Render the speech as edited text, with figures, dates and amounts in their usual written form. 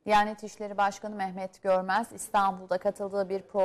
Diyanet İşleri Başkanı Mehmet Görmez İstanbul'da katıldığı bir program